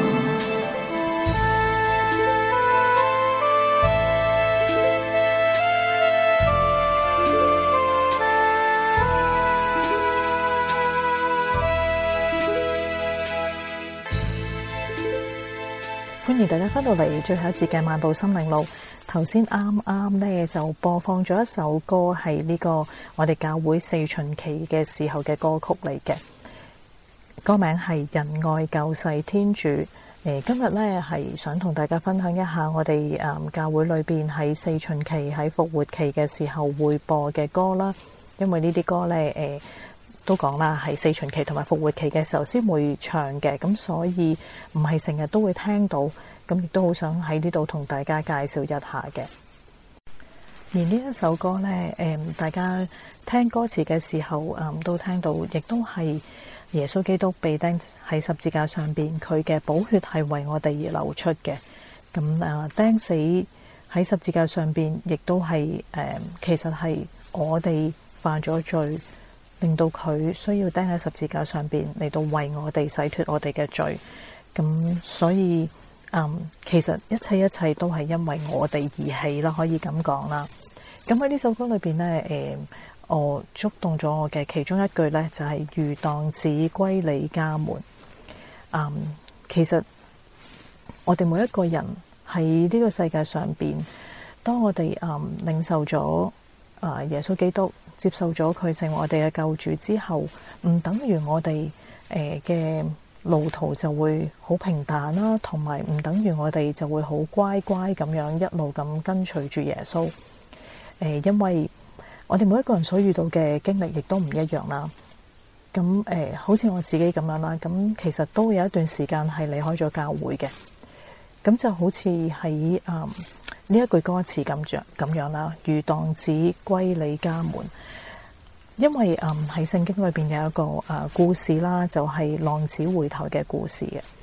歡迎大家翻到嚟最後一節嘅漫步心靈路。頭先啱啱呢就播放咗一首歌，係呢個我哋教會四旬期嘅時候嘅歌曲嚟嘅，歌名係仁愛救世天主。誒，今日呢係想同大家分享一下我哋誒教會裏邊喺四旬期喺復活期嘅時候會播嘅歌啦。因為呢啲歌呢，誒都講啦，係四旬期同埋復活期嘅時候先會唱嘅，咁所以唔係成日都會聽到，咁亦都好想喺呢度同大家介紹一下嘅。而呢一首歌呢，誒大家聽歌詞嘅時候，誒都聽到，亦都係耶穌基督被釘喺十字架上邊，佢嘅寶血係為我哋而流出嘅。咁誒釘死喺十字架上邊，亦都係誒其實係我哋犯咗罪，令到佢需要釘喺十字架上邊嚟到為我哋洗脫我哋嘅罪。咁所以嗯，其實一切一切都係因為我哋而起啦，可以咁講啦。咁喺呢首歌裏邊呢，誒、呃，我觸動咗我嘅其中一句呢，就係、是、如蕩子歸你家門。嗯，其實我哋每一個人喺呢個世界上邊，當我哋嗯領受咗啊、呃、耶穌基督，接受咗佢成為我哋嘅救主之後，唔等於我哋誒嘅路途就會好平淡啦，同埋唔等於我哋就會好乖乖咁樣一路咁跟隨住耶穌。誒、呃，因為我哋每一個人所遇到嘅經歷亦都唔一樣啦。咁誒、呃，好似我自己咁樣啦，咁其實都有一段時間係離開咗教會嘅。咁就好似喺嗯呢一句歌詞咁樣咁樣啦，如蕩子歸你家門。因為嗯喺聖經裏邊有一個誒、呃、故事啦，就係、是、浪子回頭嘅故事嘅。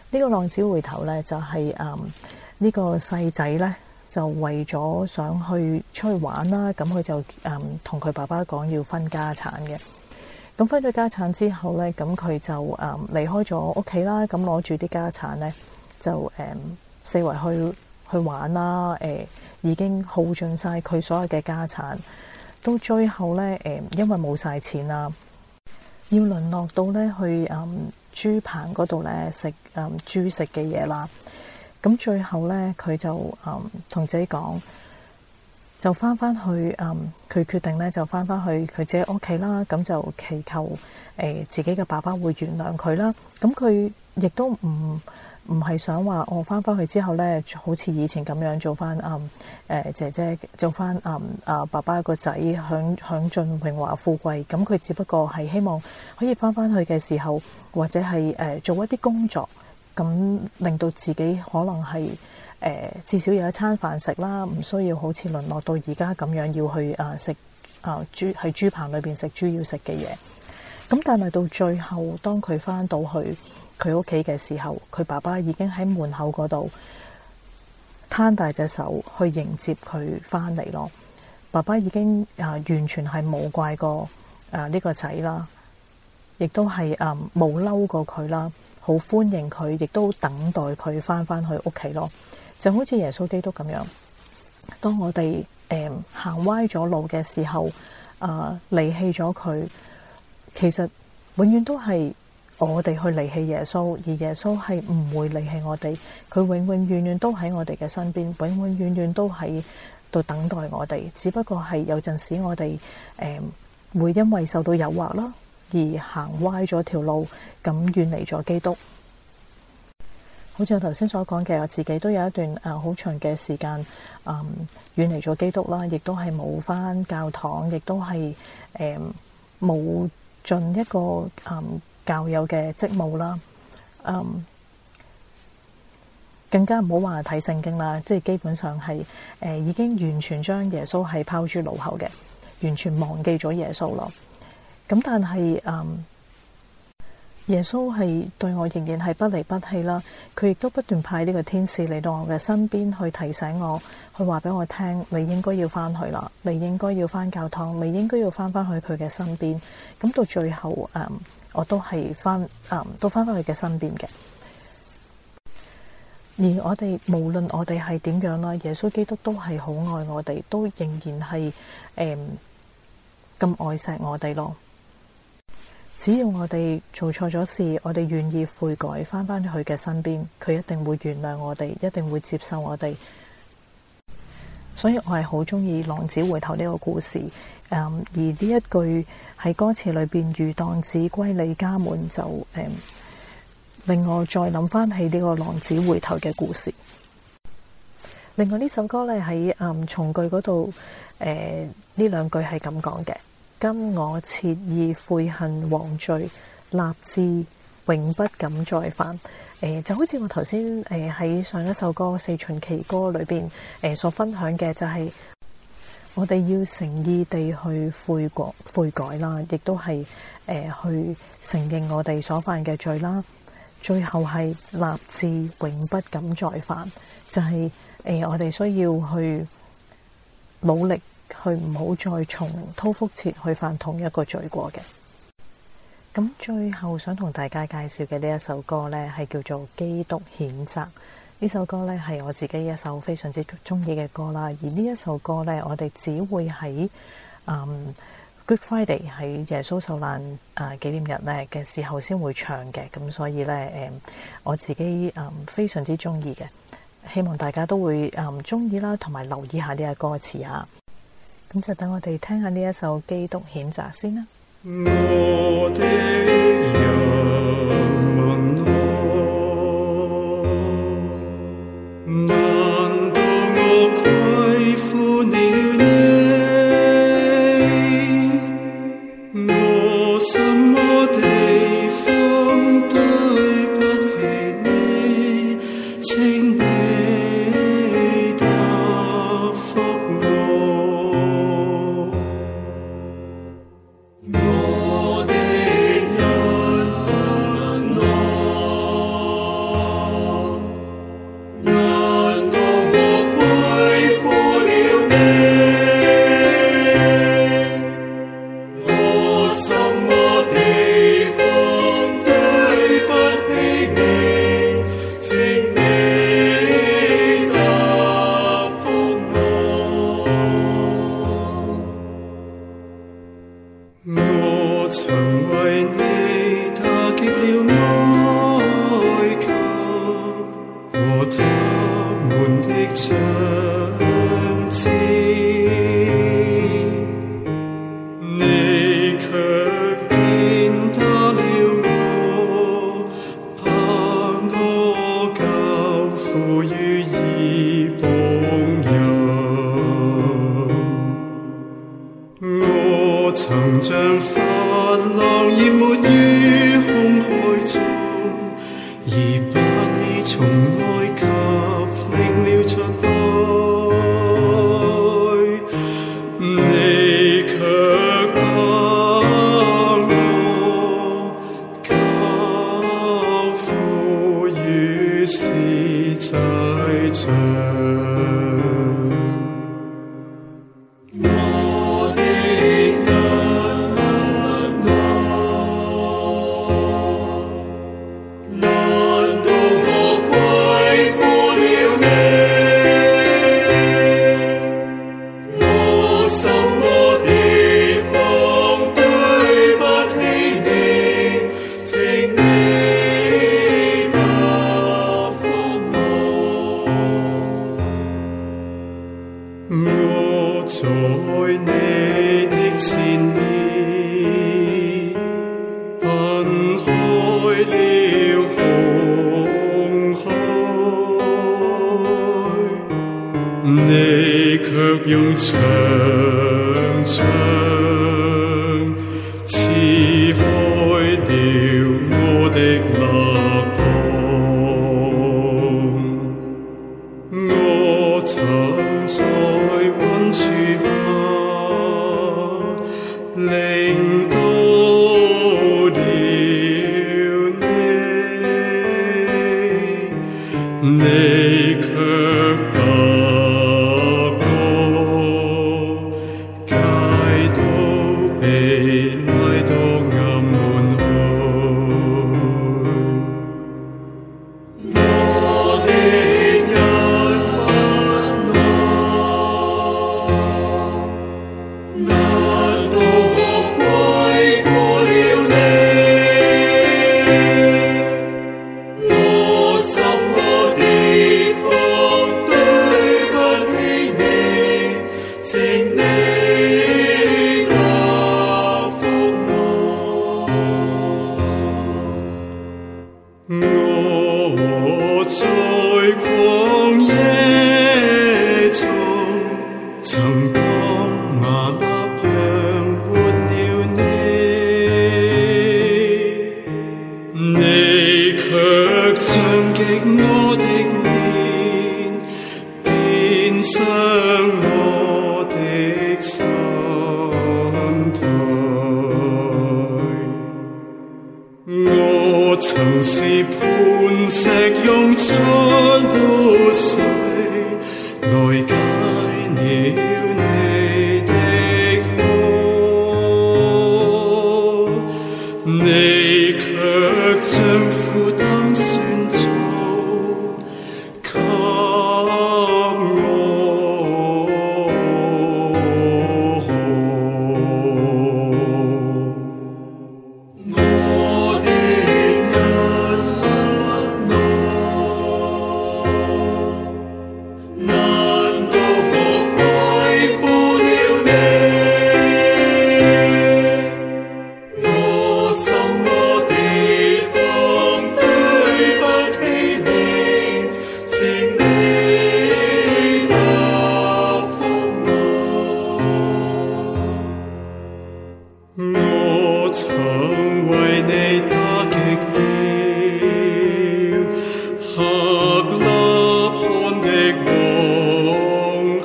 呢個浪子回頭咧就係誒呢個細仔咧就為咗想去出去玩啦，咁佢就誒同佢爸爸講要分家產嘅。咁分咗家產之後咧，咁佢就誒離開咗屋企啦，咁攞住啲家產咧就誒、嗯、四圍去去玩啦，誒、呃、已經耗盡晒佢所有嘅家產，到最後咧誒、呃、因為冇晒錢啦，要淪落到咧去誒、嗯、豬棚嗰度咧食誒豬食嘅嘢啦。咁最後咧佢就誒同、嗯、自己講，就翻翻去誒，佢、嗯、決定咧就翻翻去佢自己屋企啦。咁就祈求誒、呃、自己嘅爸爸會原諒佢啦。咁佢亦都唔唔係想話我翻翻去之後咧，好似以前咁樣做翻誒誒姐姐做翻誒啊爸爸個仔享享盡榮華富貴。咁佢只不過係希望可以翻翻去嘅時候，或者係誒、呃、做一啲工作，咁令到自己可能係。誒、呃、至少有一餐飯食啦，唔需要好似淪落到而家咁樣要去啊食啊豬喺豬棚裏邊食豬要食嘅嘢。咁但係到最後，當佢翻到去佢屋企嘅時候，佢爸爸已經喺門口嗰度攤大隻手去迎接佢翻嚟咯。爸爸已經啊完全係冇怪過啊呢個仔啦，亦都係啊冇嬲過佢啦，好歡迎佢，亦都等待佢翻翻去屋企咯。就好似耶穌基督咁樣，當我哋誒行歪咗路嘅時候，啊離棄咗佢，其實永遠都係我哋去離棄耶穌，而耶穌係唔會離棄我哋，佢永永遠遠都喺我哋嘅身邊，永永遠遠都喺度等待我哋。只不過係有陣時我哋誒、呃、會因為受到誘惑啦，而行歪咗條路，咁遠離咗基督。好似我頭先所講嘅，我自己都有一段誒好長嘅時間，嗯，遠離咗基督啦，亦都係冇返教堂，亦都係誒冇盡一個誒、嗯、教友嘅職務啦，嗯，更加唔好話睇聖經啦，即係基本上係誒、呃、已經完全將耶穌係拋諸腦後嘅，完全忘記咗耶穌咯。咁但係嗯。耶穌係對我仍然係不離不棄啦，佢亦都不斷派呢個天使嚟到我嘅身邊去提醒我，去話俾我聽，你應該要翻去啦，你應該要翻教堂，你應該要翻翻去佢嘅身邊。咁到最後，誒、嗯，我都係翻，誒、嗯，都翻翻去嘅身邊嘅。而我哋無論我哋係點樣啦，耶穌基督都係好愛我哋，都仍然係誒咁愛錫我哋咯。只要我哋做錯咗事，我哋願意悔改，翻返去佢嘅身邊，佢一定會原諒我哋，一定會接受我哋。所以我係好鍾意浪子回頭呢個故事。嗯、而呢一句喺歌詞裏邊，如蕩子歸你家門，就誒、嗯、令我再諗翻起呢個浪子回頭嘅故事。另外呢首歌咧喺嗯從句嗰度，誒呢兩句係咁講嘅。今我切意悔恨枉罪，立志永不敢再犯。誒、呃、就好似我頭先誒喺上一首歌《四旬期歌》裏邊誒、呃、所分享嘅，就係我哋要誠意地去悔過悔改啦，亦都係誒、呃、去承認我哋所犯嘅罪啦。最後係立志永不敢再犯，就係、是、誒、呃、我哋需要去努力。去唔好再重蹈覆轍去犯同一個罪過嘅。咁最後想同大家介紹嘅呢一首歌呢，係叫做《基督譴責》。呢首歌呢，係我自己一首非常之中意嘅歌啦。而呢一首歌呢，我哋只會喺、嗯、Good Friday 喺耶穌受難誒紀念日呢嘅時候先會唱嘅。咁所以呢，誒我自己誒非常之中意嘅，希望大家都會誒中意啦，同埋留意下呢個歌詞啊。咁就等我哋聽下呢一首《基督譴責》先啦。 我的人問我，難道我虧負了你？我什麼地方對不起你？請你我的人我曾為你打擊了埃及和他們的長子，你卻踐踏了我，把我交付於異邦人。我曾像法郎淹沒於紅海中，而把你從埃及領了出來，你卻把我交付於司祭長。我在你的前面奔開了紅海，你卻用長槍刺開了我的肋膀。我曾在溫處下領到了你，你卻把我解到被拉到暗門去。我的人不愛，難道我虧負了你？我什麼地方對不起你，請你答覆我。我在曠野中曾當馬納養活了你，你卻將極我的面，變相我的身體。我曾是磐石，用出活水來解了你的渴，你卻將負擔算做給我。我的人不愛，難道我虧負了你？我什麼地方對不起你？請你答覆我。我曾為你打擊了客納罕的皇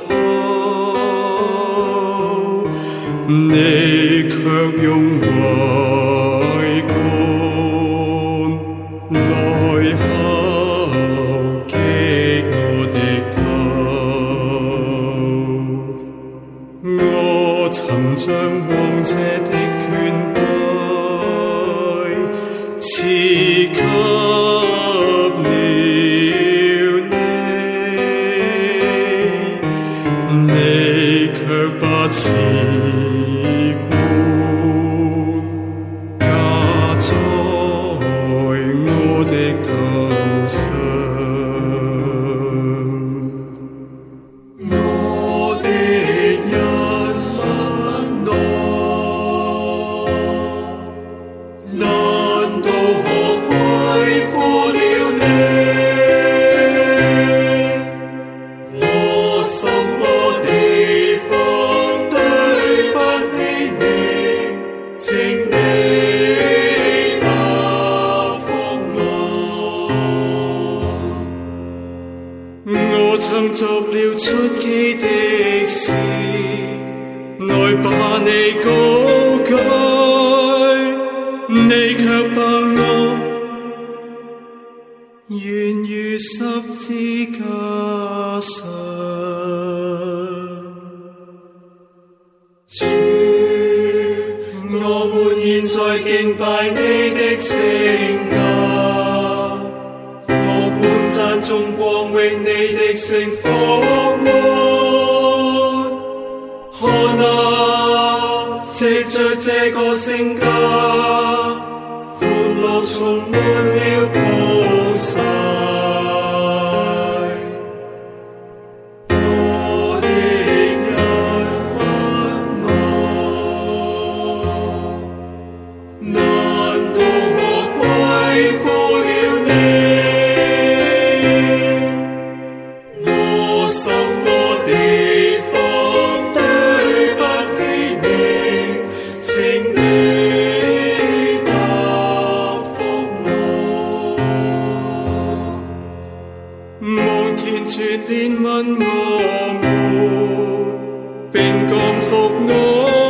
后，你卻用桅杆來敲擊我的頭。我曾將王者的權位賜給了你，你卻把持過。 你卻把我懸於十字架上。主，我們現在敬拜你的聖家，我們讚頌光榮你的聖復活。看啊，藉着這個聖家，歡樂充滿了普世。我的人啊，難道我虧負了你？我什麼地方對不起你？請你答覆我。望天主憐憫我們，並降福我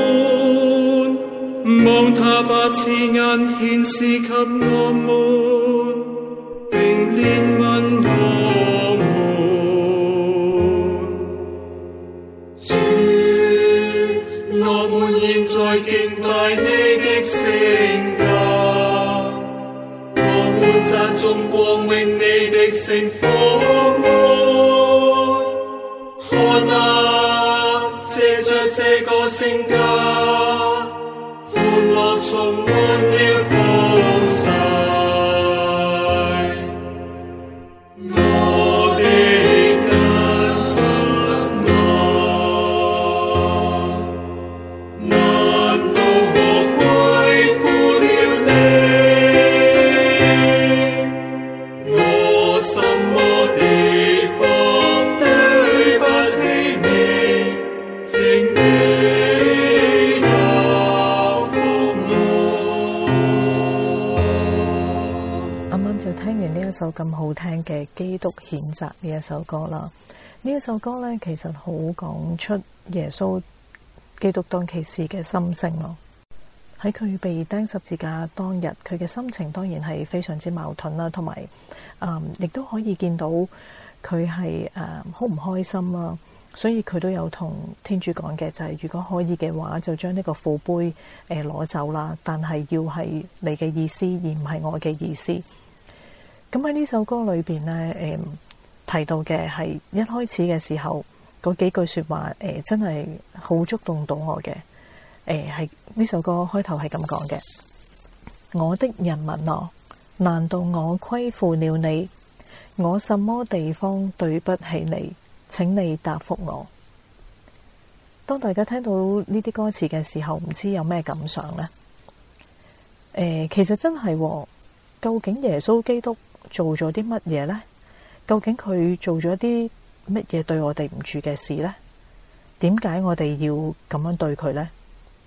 們，望他把慈顏顯示給我們，並憐憫我們。主，我們現在敬拜你的聖家，我們讚頌光榮你的聖復活。看啊，藉着這個聖家，歡樂充滿了普世。我的人啊，難道我虧負了你？我什麼地方對不起你？請你答覆我。 啱啱就聽完呢一首咁好聽嘅《基督譴責》呢一首歌啦。呢一首歌呢，其實好講出耶穌基督當其時嘅心聲咯。喺佢被釘十字架當日，佢嘅心情當然係非常之矛盾啦，同埋誒亦都可以見到佢係誒好唔開心啦。所以佢都有同天主講嘅，就係、是、如果可以嘅話，就將呢個苦杯誒攞、呃、走啦。但係要係你嘅意思，而唔係我嘅意思。咁喺呢首歌裏邊呢，誒、呃、提到嘅係一開始嘅時候嗰幾句說話，誒、呃、真係好觸動到我嘅。誒係呢首歌開頭係咁講嘅：我的人民啊，難道我虧負了你？我什麼地方對不起你？請你答覆我。當大家聽到呢啲歌詞嘅時候，唔知有咩感想呢？誒、呃，其實真係、哦，究竟耶穌基督做咗啲乜嘢呢？究竟佢做咗啲乜嘢對我哋唔住嘅事呢？點解我哋要咁樣對佢呢？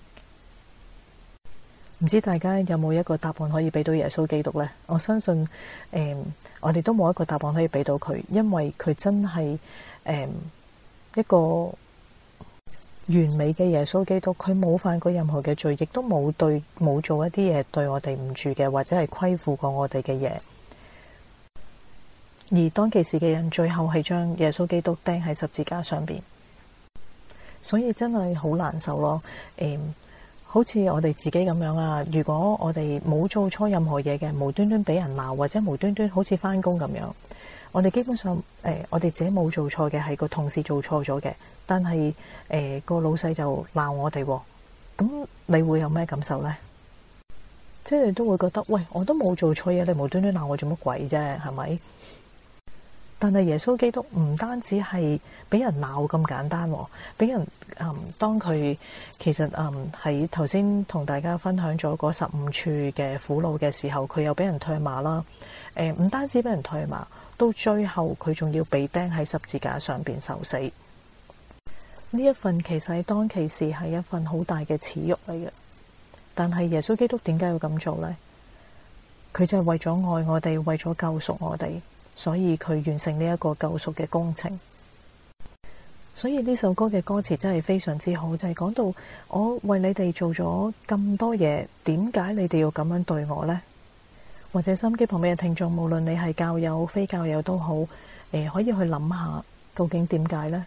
唔知大家有冇一個答案可以俾到耶穌基督呢？我相信，誒、呃，我哋都冇一個答案可以俾到佢，因為佢真係誒、呃、一個完美嘅耶穌基督，佢冇犯過任何嘅罪，亦都冇對冇做一啲嘢對我哋唔住嘅，或者係虧負過我哋嘅嘢。而當其時嘅人，最後係將耶穌基督釘喺十字架上邊，所以真係好難受咯。誒、呃。好似我哋自己咁樣啊，如果我哋冇做錯任何嘢嘅，無端端俾人鬧，或者無端端好似返工咁樣，我哋基本上誒、呃，我哋自己冇做錯嘅，係個同事做錯咗嘅，但係誒、呃、個老細就鬧我哋，咁你會有咩感受呢？即係你都會覺得，喂，我都冇做錯嘢，你無端端鬧我做乜鬼啫？係咪？但係耶穌基督唔單止係俾人鬧咁簡單，俾人嗯當佢其實嗯喺頭先同大家分享咗嗰十五處嘅苦惱嘅時候，佢又俾人唾罵啦。誒、呃、唔單止俾人唾罵，到最後佢仲要被釘喺十字架上邊受死。呢一份其實喺當其時係一份好大嘅恥辱嚟嘅。但係耶穌基督點解要咁做呢？佢就係為咗愛我哋，為咗救贖我哋。所以佢完成呢一個救贖嘅工程。 所以呢首歌嘅歌詞真係非常之好，就係講到我為你哋做咗咁多嘢，點解你哋要咁樣對我呢？或者收音機旁邊嘅聽眾，無論你係教友非教友都好，誒可以去諗下究竟點解呢？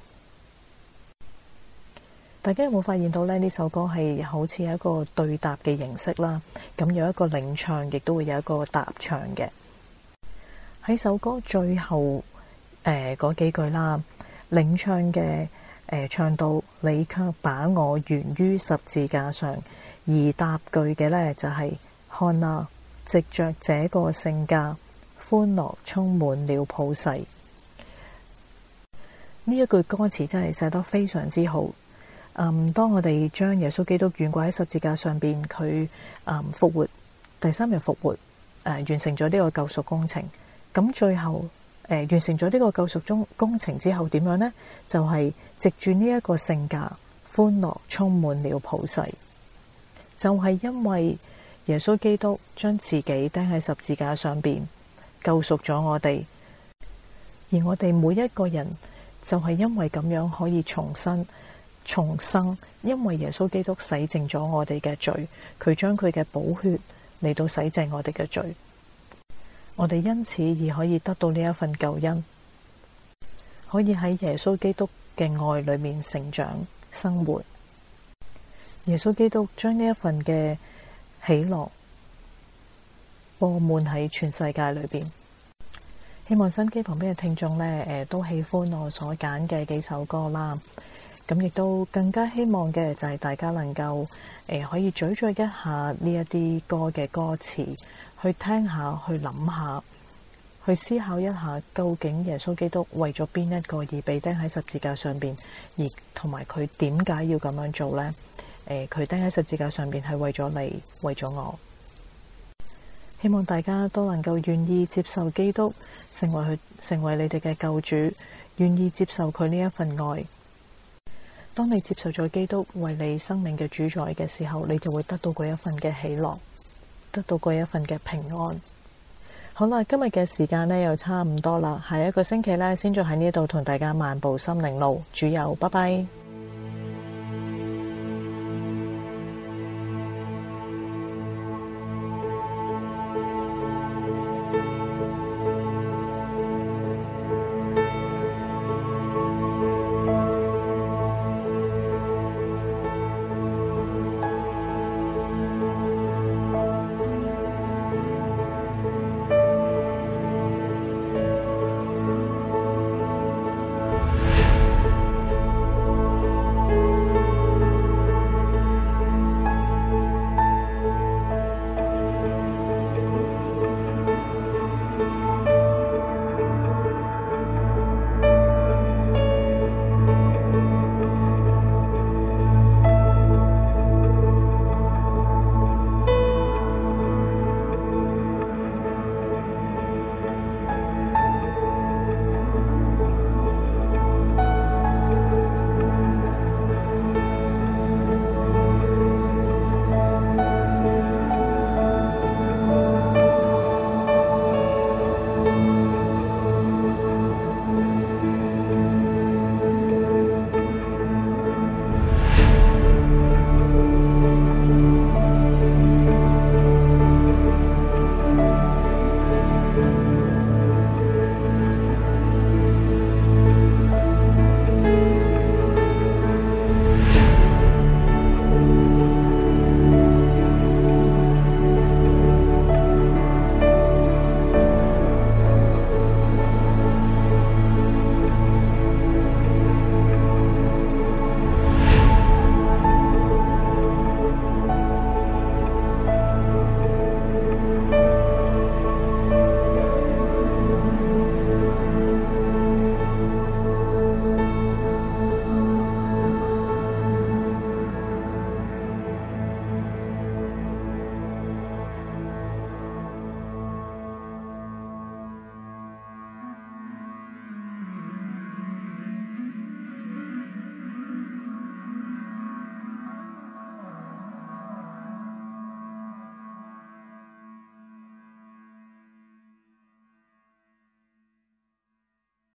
大家有冇發現到呢？呢首歌係好似一個對答嘅形式啦，咁有一個領唱，亦都會有一個答唱嘅。喺首歌最後誒嗰幾句啦，領唱嘅誒、呃、唱到你卻把我懸於十字架上，而答句嘅呢，就係、是、看啊，藉着這個聖架，歡樂充滿了普世。呢一句歌詞真係寫得非常之好。嗯，當我哋將耶穌基督懸掛喺十字架上邊，佢嗯復活，第三日復活，誒、呃、完成咗呢個救贖工程。咁最後誒、呃、完成咗呢個救贖中工程之後點樣呢？就係、是、藉住呢一個聖架，歡樂充滿了普世。就係、是、因為耶穌基督將自己釘喺十字架上邊，救贖咗我哋，而我哋每一個人就係因為咁樣可以重生。重生，因為耶穌基督洗淨咗我哋嘅罪，佢將佢嘅寶血嚟到洗淨我哋嘅罪，我哋因此而可以得到呢一份救恩，可以喺耶穌基督嘅愛裏面成長生活。耶穌基督將呢一份嘅喜樂播滿喺全世界裏邊。希望收音機旁邊嘅聽眾呢，誒、呃、都喜歡我所揀嘅幾首歌啦。咁亦都更加希望嘅就係大家能夠誒、呃、可以咀嚼一下呢一啲歌嘅歌詞，去聽下，去諗下，去思考一下，究竟耶穌基督為咗邊一個而被釘喺十字架上邊，而同埋佢點解要咁樣做呢？誒、呃，佢釘喺十字架上邊係為咗你，為咗我。希望大家都能夠願意接受基督，成為佢，成為你哋嘅救主，願意接受佢呢一份愛。當你接受咗基督為你生命嘅主宰嘅時候，你就會得到嗰一份嘅喜樂，得到嗰一份嘅平安。好啦，今日嘅時間呢又差唔多啦，下一個星期呢，先再喺呢度同大家漫步心靈路。主佑，拜拜。